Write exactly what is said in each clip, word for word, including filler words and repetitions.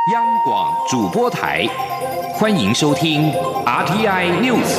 央广主播台，欢迎收听 R T I News。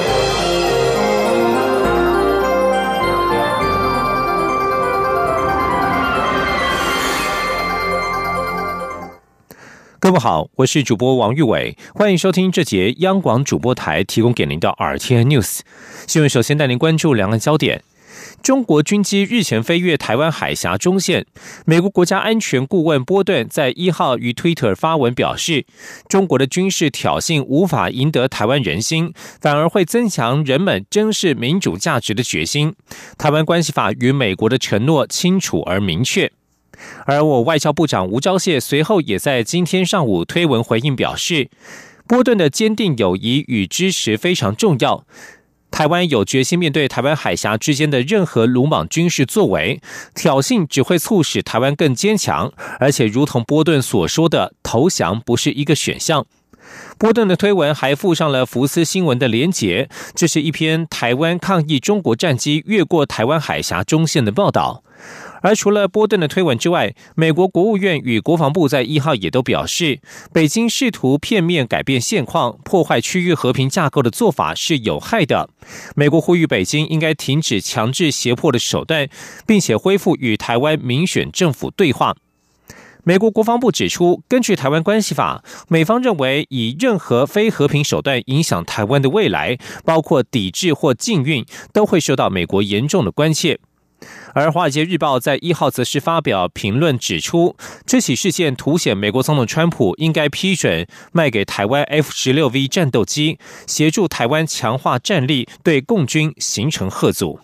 各位好，我是主播王玉伟，欢迎收听这节央广主播台提供给您的 R T I News 新闻。首先带您关注两岸焦点。中国军机日前飞越台湾海峡中线，美国国家安全顾问波顿在一号于 Twitter 发文表示，中国的军事挑衅无法赢得台湾人心，反而会增强人们珍视民主价值的决心。台湾关系法与美国的承诺清楚而明确。而我外交部长吴钊燮随后也在今天上午推文回应表示，波顿的坚定友谊与支持非常重要，台湾有决心面对台湾海峡之间的任何鲁莽军事作为，挑衅只会促使台湾更坚强，而且如同波顿所说的，投降不是一个选项。波顿的推文还附上了福斯新闻的连结，这是一篇台湾抗议中国战机越过台湾海峡中线的报道。而除了波顿的推文之外，美国国务院与国防部在一号也都表示，北京试图片面改变现况、破坏区域和平架构的做法是有害的。美国呼吁北京应该停止强制胁迫的手段，并且恢复与台湾民选政府对话。美国国防部指出，根据台湾关系法，美方认为以任何非和平手段影响台湾的未来，包括抵制或禁运，都会受到美国严重的关切。而《华尔街日报》在一号则是发表评论指出，这起事件凸显美国总统川普应该批准卖给台湾 F 十六 V 战斗机，协助台湾强化战力，对共军形成吓阻。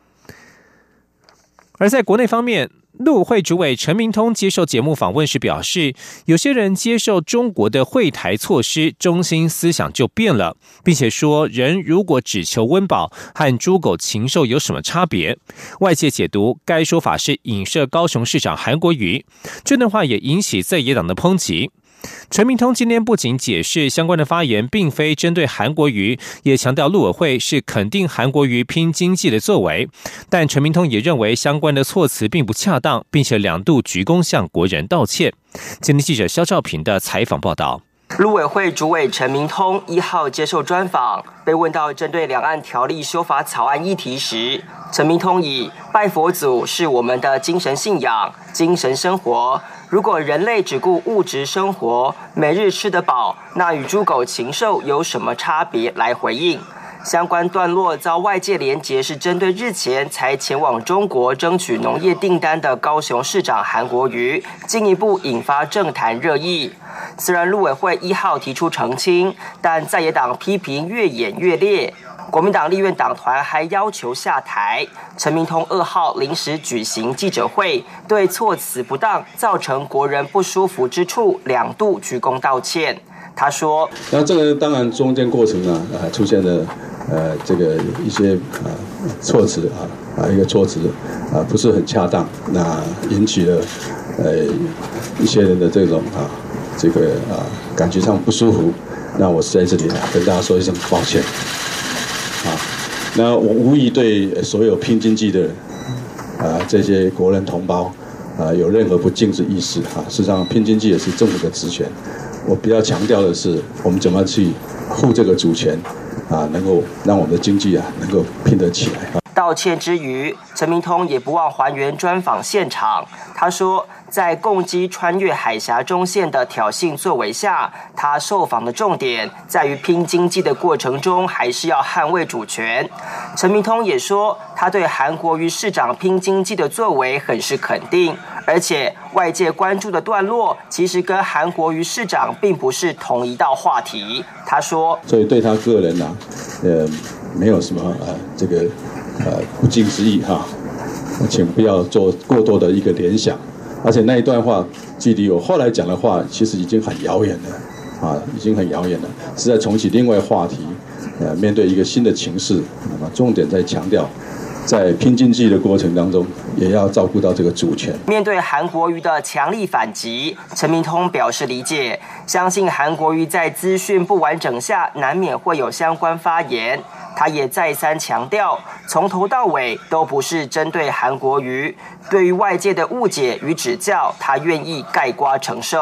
而在国内方面，陆委会主委陈明通接受节目访问时表示，有些人接受中国的惠台措施，中心思想就变了，并且说人如果只求温饱，和猪狗禽兽有什么差别？外界解读该说法是影射高雄市长韩国瑜，这段话也引起在野党的抨击。陈明通今天不仅解释相关的发言并非针对韩国瑜，也强调陆委会是肯定韩国瑜拼经济的作为，但陈明通也认为相关的措辞并不恰当，并且两度鞠躬向国人道歉。今天记者肖兆平的采访报道。 陆委会主委陈明通一号接受专访，被问到针对两岸条例修法草案议题时，陈明通以拜佛祖是我们的精神信仰、精神生活，如果人类只顾物质生活，每日吃得饱，那与猪狗禽兽有什么差别来回应。相关段落遭外界连结是针对日前才前往中国争取农业订单的高雄市长韩国瑜，进一步引发政坛热议。虽然陆委会一号提出澄清，但在野党批评越演越烈。国民党立院党团还要求下台。陈明通二号临时举行记者会，对措辞不当造成国人不舒服之处两度鞠躬道歉。他说：“ 那这个当然中间过程啊，呃，出现了呃这个一些呃措辞啊啊一个措辞啊不是很恰当，那引起了呃一些人的这种啊这个啊感觉上不舒服。那我是在这里啊跟大家说一声抱歉啊。那我无意对所有拼经济的啊这些国人同胞啊有任何不敬之意识啊。事实上，拼经济也是政府的职权。”我比较强调的是，我们怎么去护这个主权啊，能够让我们的经济啊能够拼得起来。 道歉之余，陈明通也不忘还原专访现场。他说，在共机穿越海峡中线的挑衅作为下，他受访的重点在于拼经济的过程中，还是要捍卫主权。陈明通也说，他对韩国瑜市长拼经济的作为很是肯定，而且外界关注的段落其实跟韩国瑜市长并不是同一道话题。他说， 所以对他个人呢、啊，呃，没有什么呃这个呃不敬之意哈，请不要做过多的一个联想。而且那一段话距离我后来讲的话，其实已经很遥远了，啊，已经很遥远了，是在重启另外话题，呃，面对一个新的情势，那么重点在强调，在拼经济的过程当中，也要照顾到这个主权。 面对韩国瑜的强力反击，陈明通表示理解，相信韩国瑜在资讯不完整下，难免会有相关发言。他也再三强调，从头到尾都不是针对韩国瑜，对于外界的误解与指教，他愿意概括承受。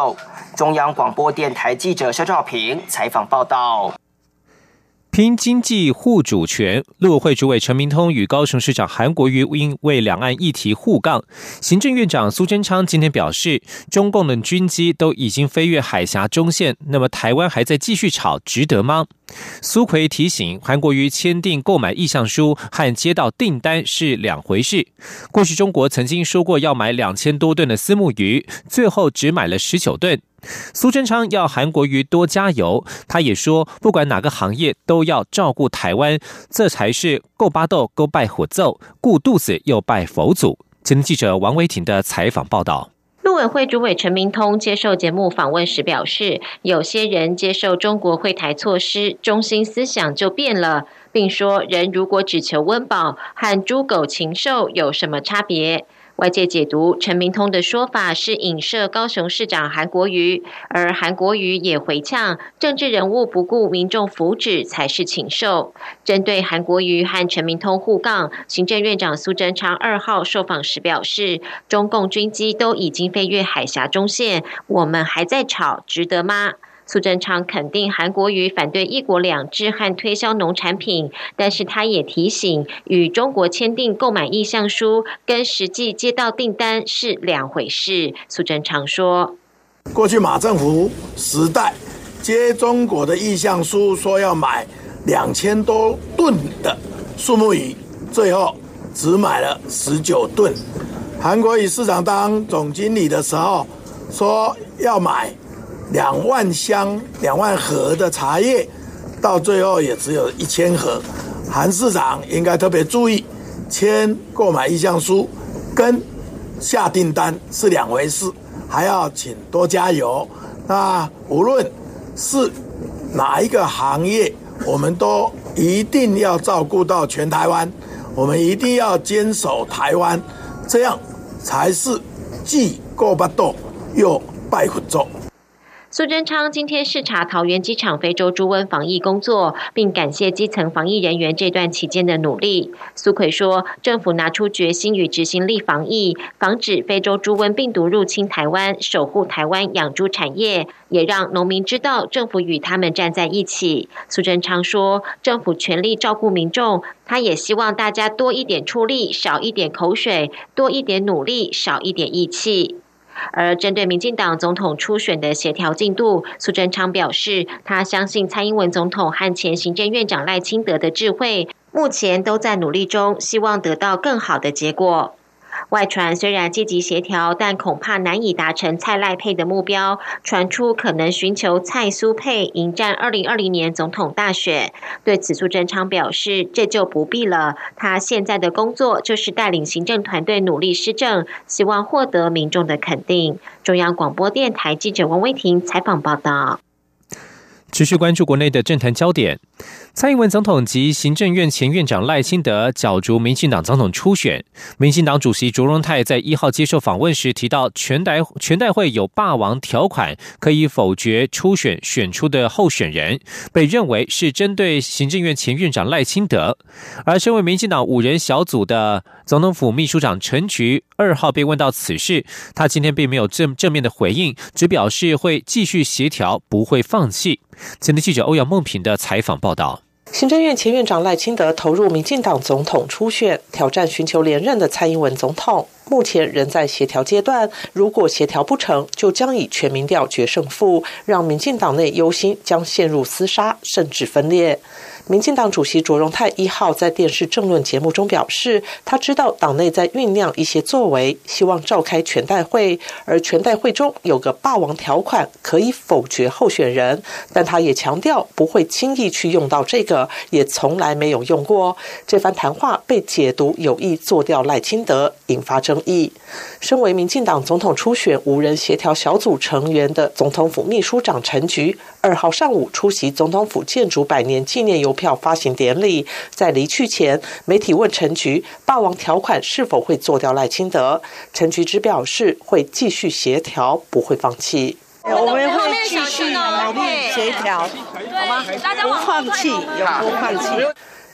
中央广播电台记者肖兆平采访报道。 拼经济护主权，陆委会主委陈明通与高雄市长韩国瑜因为两岸议题互杠。行政院长苏贞昌今天表示，中共的军机都已经飞越海峡中线，那么台湾还在继续吵，值得吗？苏揆提醒韩国瑜签订购买意向书和接到订单是两回事。过去中国曾经说过要买两千多吨的虱目鱼，最后只买了十九吨。苏贞昌要韩国瑜多加油，他也说不管哪个行业都要照顾台湾，这才是够巴斗够拜火奏，顾肚子又拜佛祖。前天记者王维婷的采访报道。 陆委会主委陈明通接受节目访问时表示，有些人接受中国惠台措施，中心思想就变了，并说人如果只求温饱，和猪狗禽兽有什么差别？外界解读陈明通的说法是影射高雄市长韩国瑜，而韩国瑜也回呛，政治人物不顾民众福祉才是禽兽。针对韩国瑜和陈明通互杠，行政院长苏贞昌二号受访时表示，中共军机都已经飞越海峡中线，我们还在吵，值得吗？苏贞昌肯定韩国瑜反对一国两制和推销农产品，但是他也提醒，与中国签订购买意向书跟实际接到订单是两回事。苏贞昌说， 过去马政府时代接中国的意向书，说要买两千多吨的虱目鱼，最后只买了十九吨。韩国瑜市长当总经理的时候说要买两万箱、两万盒的茶叶，到最后也只有一千盒。韩市长应该特别注意，签购买意向书跟下订单是两回事，还要请多加油。那无论是哪一个行业，我们都一定要照顾到全台湾，我们一定要坚守台湾，这样才是既顾巴肚又拜佛祖。 苏贞昌今天视察桃园机场非洲猪瘟防疫工作，并感谢基层防疫人员这段期间的努力。苏揆说，政府拿出决心与执行力防疫，防止非洲猪瘟病毒入侵台湾，守护台湾养猪产业，也让农民知道政府与他们站在一起。苏贞昌说，政府全力照顾民众，他也希望大家多一点出力，少一点口水，多一点努力，少一点义气。而针对民进党总统初选的协调进度，苏贞昌表示，他相信蔡英文总统和前行政院长赖清德的智慧，目前都在努力中，希望得到更好的结果。外传虽然积极协调，但恐怕难以达成蔡赖配的目标，传出可能寻求蔡苏配迎战二零二零年总统大选。对此，苏贞昌表示，这就不必了，他现在的工作就是带领行政团队努力施政，希望获得民众的肯定。中央广播电台记者王威婷采访报道。 持续关注国内的政坛焦点，蔡英文总统及行政院前院长赖清德角逐民进党总统初选。民进党主席卓荣泰在一号接受访问时提到，全代全代会有霸王条款，可以否决初选选出的候选人，被认为是针对行政院前院长赖清德。而身为民进党五人小组的总统府秘书长陈菊二号被问到此事，他今天并没有正正面的回应，只表示会继续协调，不会放弃。前天记者欧阳梦平的采访报道。 行政院前院长赖清德投入民进党总统初选，挑战寻求连任的蔡英文总统，目前仍在协调阶段，如果协调不成，就将以全民调决胜负，让民进党内忧心将陷入厮杀，甚至分裂。民进党主席卓荣泰一号在电视政论节目中表示，他知道党内在酝酿一些作为，希望召开全代会，而全代会中有个霸王条款，可以否决候选人，但他也强调不会轻易去用到这个，也从来没有用过。这番谈话被解读有意做掉赖清德，引发争议。身为民进党总统初选无人协调小组成员的总统府秘书长陈菊二号上午出席总统府建筑百年纪念邮票发行典礼，在离去前，媒体问陈菊霸王条款是否会做掉赖清德，陈菊只表示会继续协调，不会放弃。 我们会继续努力协调，好吗？不放弃，永不放弃。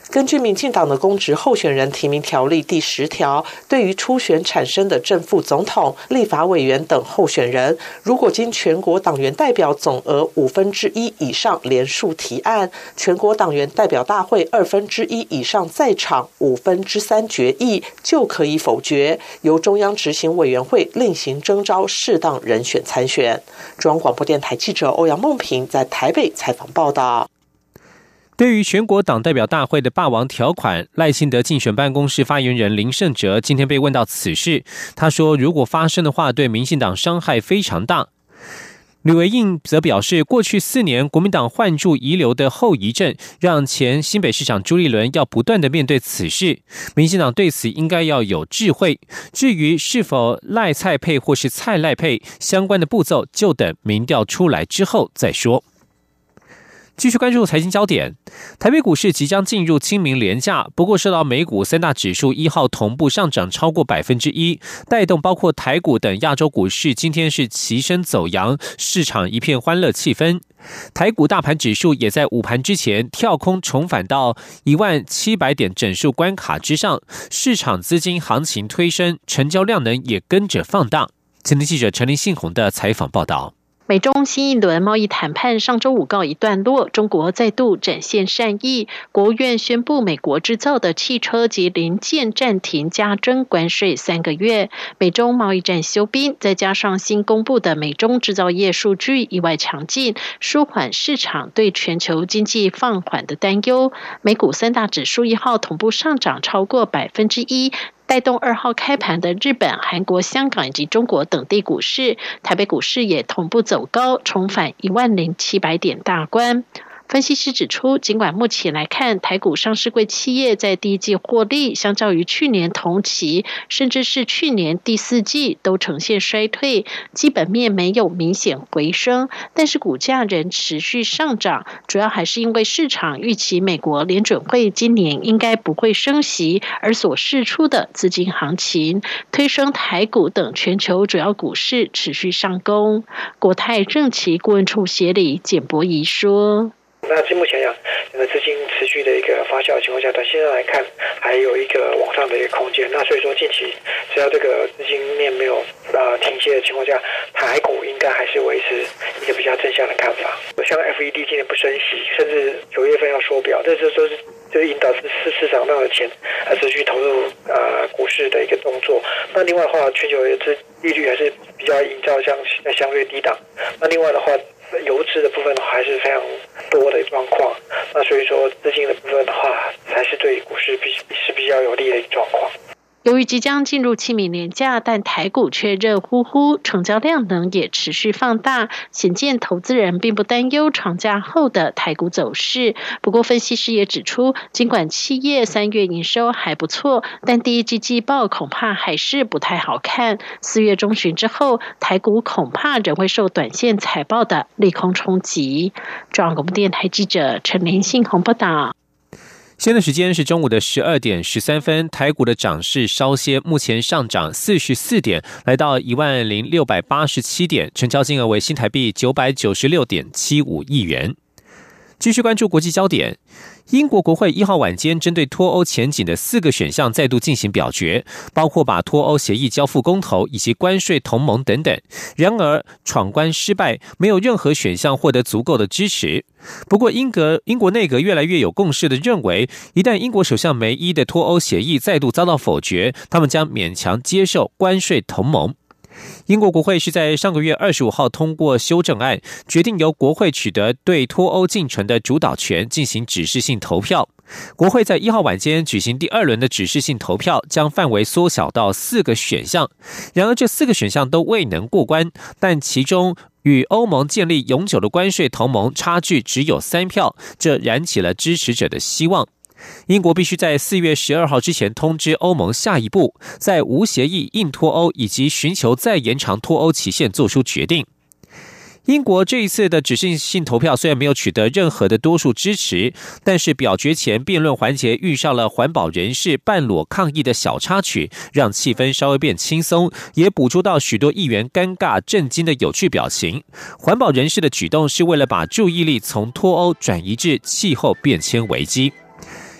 根据民进党的公职候选人提名条例第十条，对于初选产生的正副总统、立法委员等候选人，如果经全国党员代表总额五分之一以上联署提案，全国党员代表大会二分之一以上在场五分之三决议，就可以否决，由中央执行委员会另行征召适当人选参选。中央广播电台记者欧阳梦平在台北采访报道。 对于全国党代表大会的霸王条款，赖清德竞选办公室发言人林胜哲今天被问到此事，他说如果发生的话，对民进党伤害非常大。吕维印则表示，过去四年国民党换柱遗留的后遗症，让前新北市长朱立伦要不断的面对此事，民进党对此应该要有智慧。至于是否赖蔡配或是蔡赖配，相关的步骤就等民调出来之后再说。继续关注财经焦点，台北股市即将进入清明连假，不过受到美股三大指数一号同步上涨超过百分之一，带动包括台股等亚洲股市今天是齐声走扬，市场一片欢乐气氛。台股大盘指数也在午盘之前跳空重返到一万七百点整数关卡之上，市场资金行情推升，成交量能也跟着放大。前天记者陈林信宏的采访报道。 美中新一轮贸易谈判上周五告一段落，中国再度展现善意，国务院宣布美国制造的汽车及零件暂停加征关税三个月。美中贸易战休兵，再加上新公布的美中制造业数据意外强劲，舒缓市场对全球经济放缓的担忧。美股三大指数一号同步上涨超过百分之一。带动二号开盘的日本、韩国、香港以及中国等地股市，台北股市也同步走高，重返一万零七百点大关。分析师指出，尽管目前来看，台股上市柜企业在第一季获利相较于去年同期，甚至是去年第四季都呈现衰退，基本面没有明显回升，但是股价仍持续上涨，主要还是因为市场预期美国联准会今年应该不会升息，而所释出的资金行情，推升台股等全球主要股市持续上攻。国泰正奇顾问处协理简博仪说。 那目前讲，整个资金持续的一个发酵的情况下，短线上来看还有一个往上的一个空间。那所以说近期只要这个资金面没有呃停歇的情况下，台股应该还是维持一个比较正向的看法。像 F E D 今年不升息，甚至九月份要缩表，这这都是就是引导市市场上的钱呃持续投入呃股市的一个动作。那另外的话，全球的利率还是比较营造相相对低档。那另外的话，游资的部分的话还是非常多的状况，那所以说资金的部分的话，还是对股市比是比较有利的一个状况。 由于即将进入清明连假，但台股却热乎乎，成交量能也持续放大，显见投资人并不担忧长假后的台股走势。不过分析师也指出，尽管企业三月营收还不错，但第一季季报恐怕还是不太好看。四月中旬之后，台股恐怕仍会受短线财报的利空冲击。中央广播电台记者陈林信宏报道。 现在时间是中午的十二点十三分，台股的涨势稍歇，目前上涨四十四点，来到一万零六百八十七点，成交金额为新台币九百九十六点七五亿元。继续关注国际焦点，英国国会一号晚间针对脱欧前景的四个选项再度进行表决，包括把脱欧协议交付公投以及关税同盟等等。然而闯关失败，没有任何选项获得足够的支持。不过英国英国内阁越来越有共识地认为，一旦英国首相梅伊的脱欧协议再度遭到否决，他们将勉强接受关税同盟。英国国会是在上个月二十五号通过修正案，决定由国会取得对脱欧进程的主导权，进行指示性投票。国会在一号晚间举行第二轮的指示性投票，将范围缩小到四个选项。然而这四个选项都未能过关，但其中与欧盟建立永久的关税同盟差距只有三票，这燃起了支持者的希望。英国必须在四月十二号之前通知欧盟下一步，在无协议硬脱欧以及寻求再延长脱欧期限做出决定。英国这一次的指示性投票虽然没有取得任何的多数支持，但是表决前辩论环节遇上了环保人士半裸抗议的小插曲，让气氛稍微变轻松，也捕捉到许多议员尴尬震惊的有趣表情。环保人士的举动是为了把注意力从脱欧转移至气候变迁危机。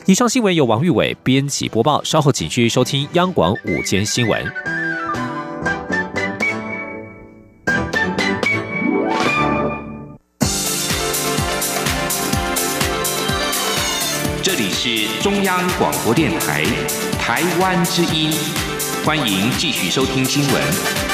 以上新闻由王玉伟编辑播报，稍后请继续收听央广午间新闻。 这里是中央广播电台台湾之音，欢迎继续收听新闻。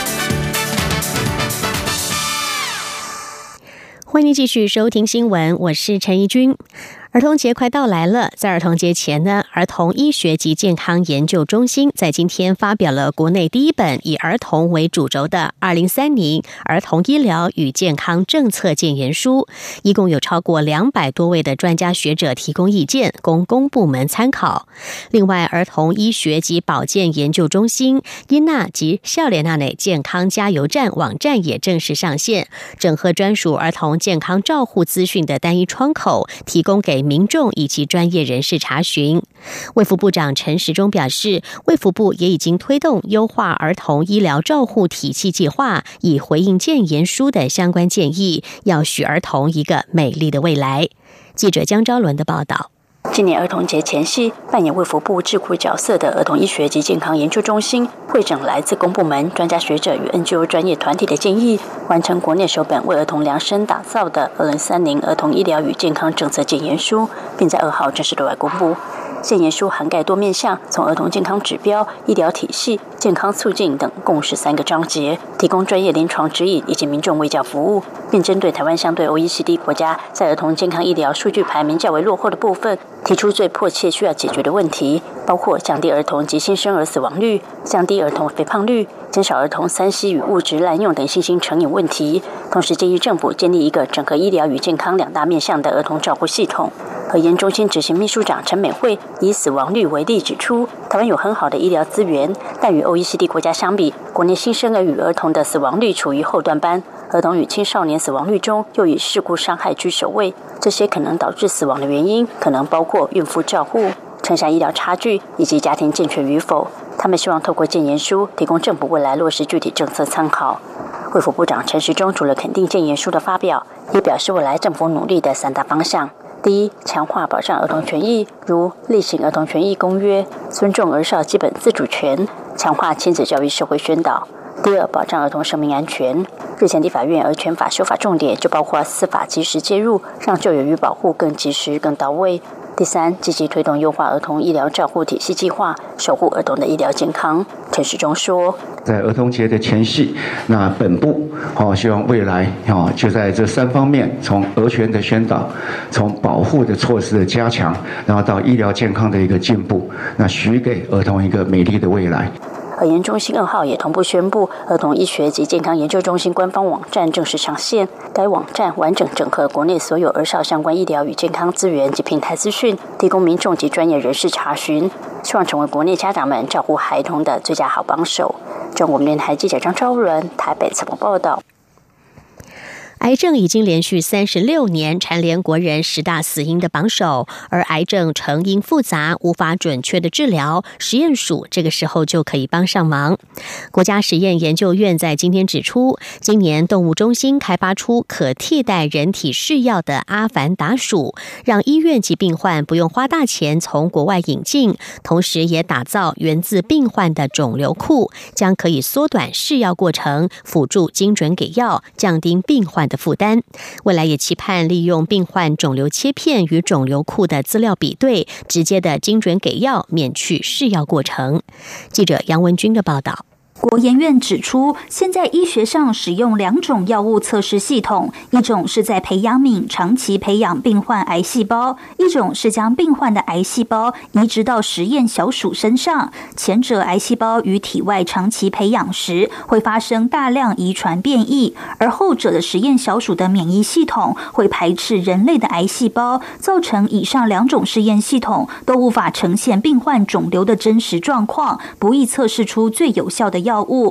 欢迎继续收听新闻，我是陈怡君。儿童节快到来了，在儿童节前呢，儿童医学及健康研究中心在今天发表了国内第一本以儿童为主轴的二零三零儿童医疗与健康政策建言书，一共有超过两百多位的专家学者提供意见，供公部门参考。另外，儿童医学及保健研究中心英娜及笑脸娜内健康加油站网站也正式上线，整合专属儿童健康照护资讯的单一窗口，提供给民众以及专业人士查询。卫福部长陈时中表示，卫福部也已经推动优化儿童医疗照护体系计划，以回应建言书的相关建议，要许儿童一个美丽的未来。记者江昭伦的报道。 今年儿童节前夕，扮演卫福部智库角色的儿童医学及健康研究中心会诊来自公部门专家学者与 N G O 专业团体的建议，完成国内首本为儿童量身打造的二零三零儿童医疗与健康政策建言书，并在二号正式对外公布。建言书涵盖多面向，从儿童健康指标、医疗体系、健康促进等共十三个章节，提供专业临床指引以及民众卫教服务，并针对台湾相对 O E C D 国家在儿童健康医疗数据排名较为落后的部分，提出最迫切需要解决的问题，包括降低儿童及新生儿死亡率、降低儿童肥胖率、减少儿童三 C 与物质滥用等新兴成瘾问题。同时建议政府建立一个整合医疗与健康两大面向的儿童照护系统。核研中心执行秘书长陈美惠以死亡率为例指出，台湾有很好的医疗资源，但与 O E C D 国家相比，国内新生儿与儿童的死亡率处于后段班，儿童与青少年死亡率中又以事故伤害居首位。这些可能导致死亡的原因，可能包括孕妇照护、城乡医疗差距以及家庭健全与否。他们希望透过建言书，提供政府未来落实具体政策参考。卫福部长陈时中除了肯定建言书的发表，也表示未来政府努力的三大方向。第一，强化保障儿童权益，如例行儿童权益公约，尊重儿少基本自主权，强化亲子教育社会宣导。第二，保障儿童生命安全。日前立法院儿权法修法重点就包括司法及时介入，让救援与保护更及时、更到位。第三，积极推动优化儿童医疗照护体系计划，守护儿童的医疗健康。陈时中说， 在儿童节的前夕，那本部哦，希望未来哦，就在这三方面，从儿权的宣导，从保护的措施的加强，然后到医疗健康的一个进步，那许给儿童一个美丽的未来。 核研中心二号也同步宣布，儿童医学及健康研究中心官方网站正式上线。该网站完整整合国内所有儿少相关医疗与健康资源及平台资讯，提供民众及专业人士查询，希望成为国内家长们照顾孩童的最佳好帮手。中国电台记者张昭伦台北采访报道。 癌症已经连续三十六年蝉联国人十大死因的榜首，而癌症成因复杂，无法准确的治疗，实验署这个时候就可以帮上忙。国家实验研究院在今天指出，今年动物中心开发出可替代人体试药的阿凡达鼠，让医院及病患不用花大钱从国外引进，同时也打造源自病患的肿瘤库，将可以缩短试药过程，辅助精准给药，降低病患的负担。未来也期盼利用病患肿瘤切片与肿瘤库的资料比对，直接的精准给药，免去试药过程。记者杨文君的报道。 国研院指出，现在医学上使用两种药物测试系统，一种是在培养皿长期培养病患癌细胞，一种是将病患的癌细胞移植到实验小鼠身上。前者癌细胞于体外长期培养时会发生大量遗传变异，而后者的实验小鼠的免疫系统会排斥人类的癌细胞，造成以上两种试验系统都无法呈现病患肿瘤的真实状况，不易测试出最有效的药物。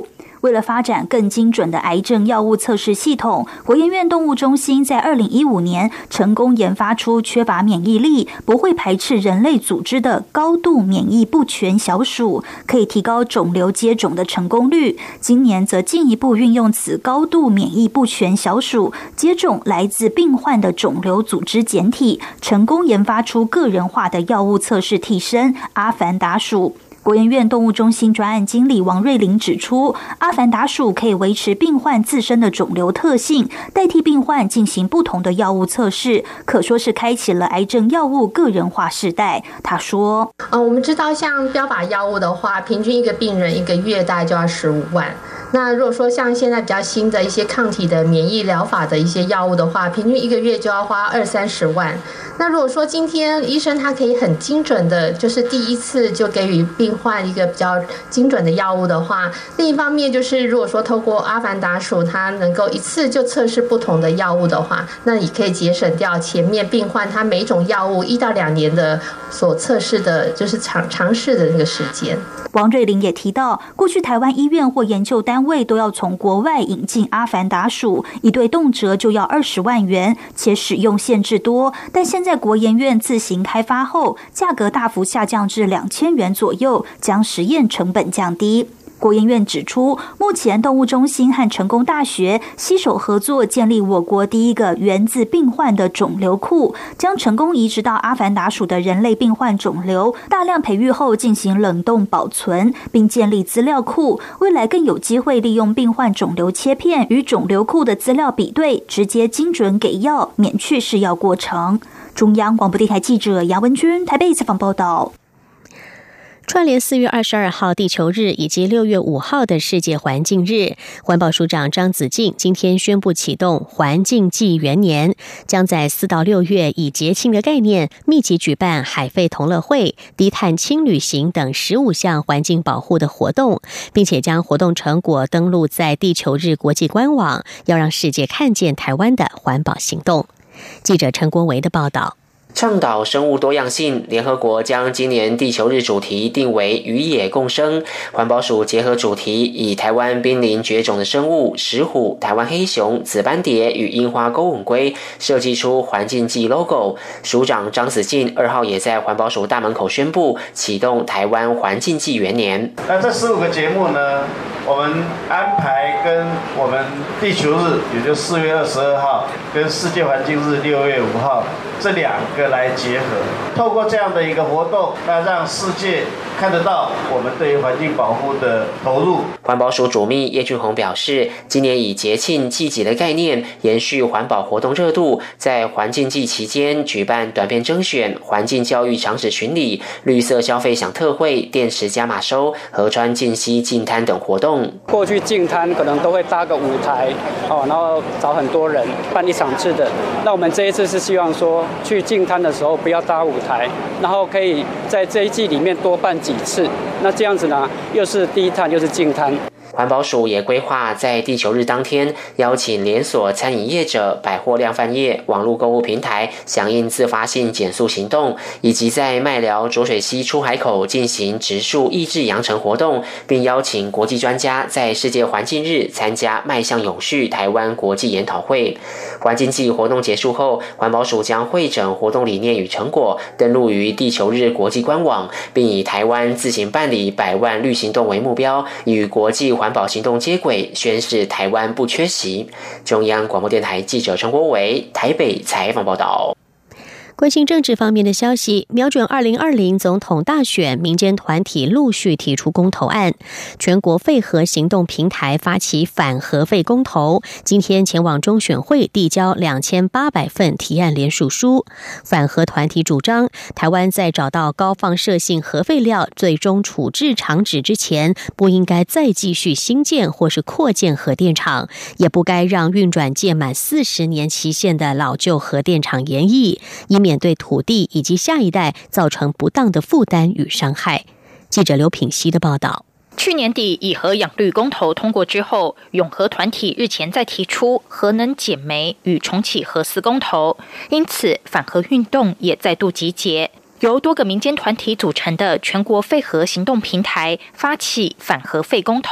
为了发展更精准的癌症药物测试系统，国研院动物中心在二零一五年成功研发出缺乏免疫力、不会排斥人类组织的高度免疫不全小鼠，可以提高肿瘤接种的成功率。今年则进一步运用此高度免疫不全小鼠接种来自病患的肿瘤组织简体，成功研发出个人化的药物测试替身阿凡达鼠。国研院动物中心专案经理王瑞玲指出，阿凡达鼠可以维持病患自身的肿瘤特性，代替病患进行不同的药物测试，可说是开启了癌症药物个人化时代。他说： 呃，我们知道像标靶药物的话，平均一个病人一个月大概就要十五万。那如果说像现在比较新的一些抗体的免疫疗法的一些药物的话，平均一个月就要花二三十万。那如果说今天医生他可以很精准的，就是第一次就给予病患一个比较精准的药物的话，另一方面就是如果说透过阿凡达鼠它能够一次就测试不同的药物的话，那也可以节省掉前面病患他每种药物一到两年的所测试的就是尝尝试的那个时间。 王瑞玲也提到，过去台湾医院或研究单位都要从国外引进阿凡达鼠，一对动辄就要二十万元，且使用限制多。但现在国研院自行开发后，价格大幅下降至两千元左右，将实验成本降低。国研院指出，目前动物中心和成功大学携手合作，建立我国第一个源自病患的肿瘤库，将成功移植到阿凡达鼠的人类病患肿瘤，大量培育后进行冷冻保存，并建立资料库，未来更有机会利用病患肿瘤切片与肿瘤库的资料比对，直接精准给药，免去试药过程。中央广播电台记者杨文君台北采访报道。 串联四月二十二号地球日以及六月五号的世界环境日，环保署长张子敬今天宣布启动环境纪元年，将在四到六月以节庆的概念密集举办海废同乐会、低碳轻旅行等十五项环境保护的活动，并且将活动成果登录在地球日国际官网，要让世界看见台湾的环保行动。记者陈国维的报道。 倡导生物多样性，联合国将今年地球日主题定为与野共生。环保署结合主题，以台湾濒临绝种的生物石虎、台湾黑熊、紫斑蝶与樱花钩吻龟，设计出环境季 logo。署长张子敬二号也在环保署大门口宣布启动台湾环境季元年。 那这十五个节目呢，我们安排跟我们地球日，也就四月二十二号，跟世界环境日六月五号这两个来结合，透过这样的一个活动，那让世界看得到我们对于环境保护的投入。 环保署主秘叶俊宏表示，今年以节庆季节的概念延续环保活动热度，在环境季期间举办短片征选、环境教育场址巡礼、绿色消费享特惠、电池加码收、河川净溪净滩等活动。 过去净滩可能都会搭个舞台，哦，然后找很多人办一场次的。那我们这一次是希望说，去净滩的时候不要搭舞台，然后可以在这一季里面多办几次。那这样子呢，又是低碳又是净滩。 环保署也规划在地球日当天，邀请连锁餐饮业者、百货量贩业、网络购物平台响应自发性减塑行动，以及在麦寮浊水溪出海口进行植树抑制扬尘活动，并邀请国际专家在世界环境日参加迈向永续台湾国际研讨会。环境季活动结束后，环保署将汇整活动理念与成果，登录于地球日国际官网，并以台湾自行办理百万绿行动为目标，与国际环保行动接轨，宣示台湾不缺席。中央广播电台记者陈国伟台北采访报道。 关心政治方面的消息，瞄准二零二零总统大选，民间团体陆续提出公投案。全国废核行动平台发起反核废公投，今天前往中选会递交两千八百份提案联署书。反核团体主张，台湾在找到高放射性核废料最终处置场址之前，不应该再继续新建或是扩建核电厂，也不该让运转届满四十年期限的老旧核电厂延役，以免对土地以及下一代造成不当的负担与伤害。记者刘品熙的报道。 去年底以核养绿公投通过之后，永核团体日前再提出核能减煤与重启核四公投，因此反核运动也再度集结。由多个民间团体组成的全国废核行动平台发起反核废公投。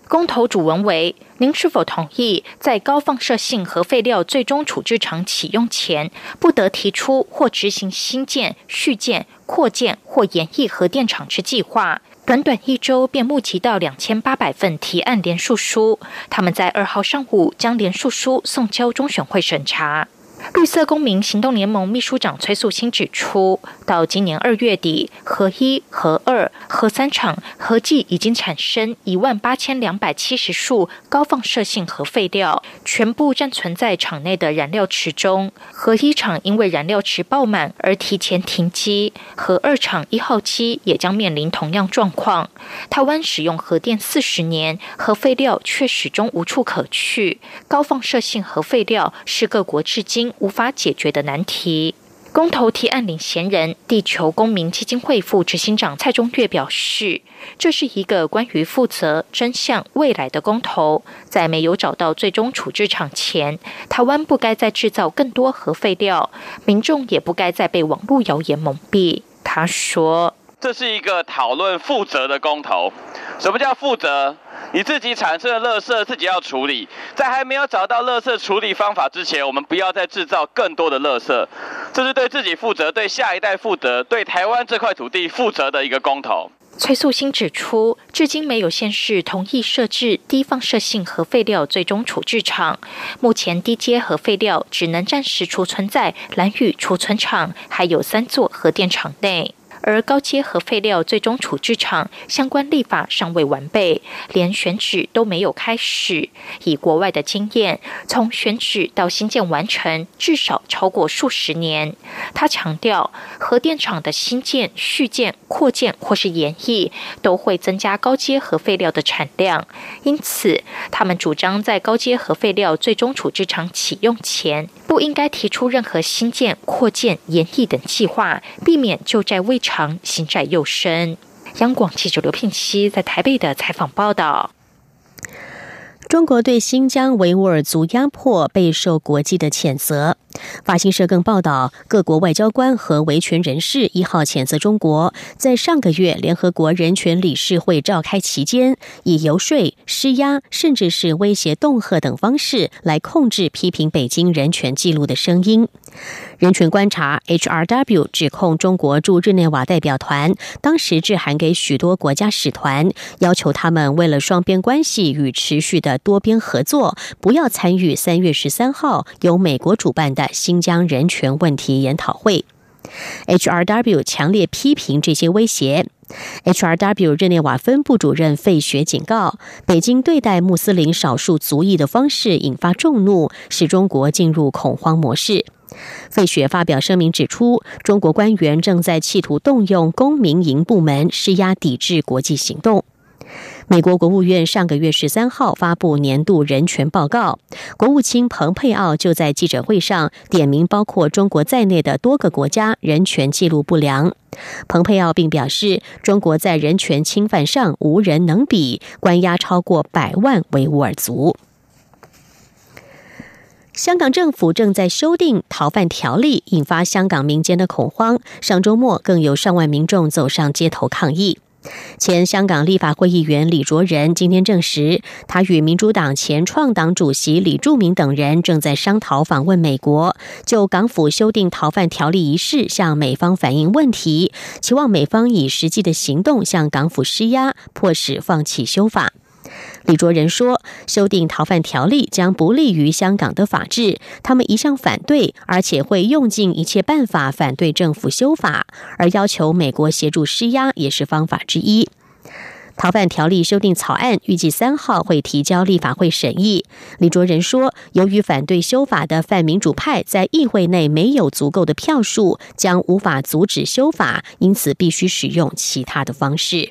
公投主文为：您是否同意在高放射性核废料最终处置场启用前，不得提出或执行新建、续建、扩建或延役核电厂之计划？短短一周便募集到两千八百份提案联署书，他们在二号上午将联署书送交中选会审查。绿色公民行动联盟秘书长崔素清指出，到今年二月底，核一、核二、核三厂合计已经产生一万八千两百七十束高放射性核废料，全部暂存在厂内的燃料池中。核一厂因为燃料池爆满而提前停机，核二厂一号机也将面临同样状况。台湾使用核电四十年，核废料却始终无处可去，高放射性核废料是各国至今无法解决的难题。公投提案领衔人地球公民基金会副执行长蔡中岳表示，这是一个关于负责、真相、未来的公投。在没有找到最终处置场前，台湾不该再制造更多核废料，民众也不该再被网络谣言蒙蔽。他说， 这是一个讨论负责的公投。什么叫负责？你自己产生的垃圾自己要处理，在还没有找到垃圾处理方法之前，我们不要再制造更多的垃圾。这是对自己负责、对下一代负责、对台湾这块土地负责的一个公投。 崔素清指出，至今没有县市同意设置低放射性核废料最终处置场。目前低阶核废料只能暂时储存在兰屿储存厂，还有三座核电厂内。而高阶核废料最终处置场相关立法尚未完备，连选址都没有开始。以国外的经验，从选址到新建完成，至少超过数十年。他强调，核电厂的新建、续建、扩建或是延役，都会增加高阶核废料的产量。因此，他们主张在高阶核废料最终处置场启用前，不应该提出任何新建、扩建、延役等计划，避免旧债未偿，新债又深。央广记者刘聘熙在台北的采访报道。 中国对新疆维吾尔族压迫备受国际的谴责。法新社更报道，各国外交官和维权人士一号谴责中国在上个月联合国人权理事会召开期间，以游说、施压，甚至是威胁恫吓等方式来控制批评北京人权记录的声音。人权观察 H R W 指控中国驻日内瓦代表团当时致函给许多国家使团，要求他们为了双边关系与持续的多边合作，不要参与三月十三号由美国主办的新疆人权问题研讨会。H R W 强烈批评这些威胁。H R W 日内瓦分部主任费雪警告，北京对待穆斯林少数族裔的方式引发众怒，使中国进入恐慌模式。费雪发表声明指出，中国官员正在企图动用公民营部门施压抵制国际行动。美国国务院上个月十三号发布年度人权报告，国务卿蓬佩奥就在记者会上点名包括中国在内的多个国家人权记录不良。蓬佩奥并表示，中国在人权侵犯上无人能比，关押超过百万维吾尔族。香港政府正在修订逃犯条例，引发香港民间的恐慌。上周末更有上万民众走上街头抗议。前香港立法会议员李卓人今天证实，他与民主党前创党主席李柱铭等人正在商讨访问美国，就港府修订逃犯条例一事向美方反映问题，期望美方以实际的行动向港府施压，迫使放弃修法。李卓人说，修订逃犯条例将不利于香港的法治，他们一向反对，而且会用尽一切办法反对政府修法，而要求美国协助施压也是方法之一。逃犯条例修订草案预计三号会提交立法会审议。李卓人说，由于反对修法的泛民主派在议会内没有足够的票数，将无法阻止修法，因此必须使用其他的方式。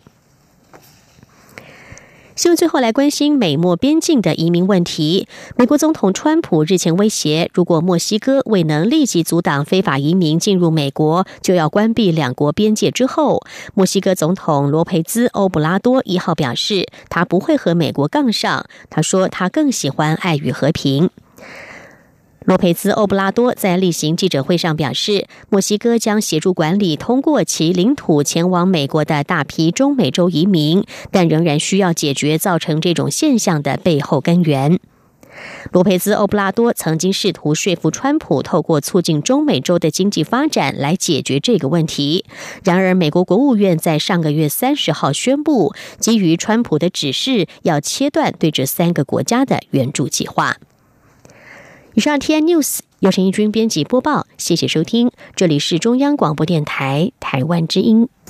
新闻最后来关心美墨边境的移民问题。美国总统川普日前威胁，如果墨西哥未能立即阻挡非法移民进入美国，就要关闭两国边界之后，墨西哥总统罗培兹·欧布拉多一号表示，他不会和美国杠上。他说，他更喜欢爱与和平。 洛佩兹·欧布拉多在例行记者会上表示，墨西哥将协助管理通过其领土前往美国的大批中美洲移民，但仍然需要解决造成这种现象的背后根源。罗佩兹·欧布拉多曾经试图说服川普透过促进中美洲的经济发展来解决这个问题。然而，美国国务院在上个月三十号宣布，基于川普的指示，要切断对这三个国家的援助计划。以上 T N News 由陈义军编辑播报，谢谢收听，这里是中央广播电台台湾之音。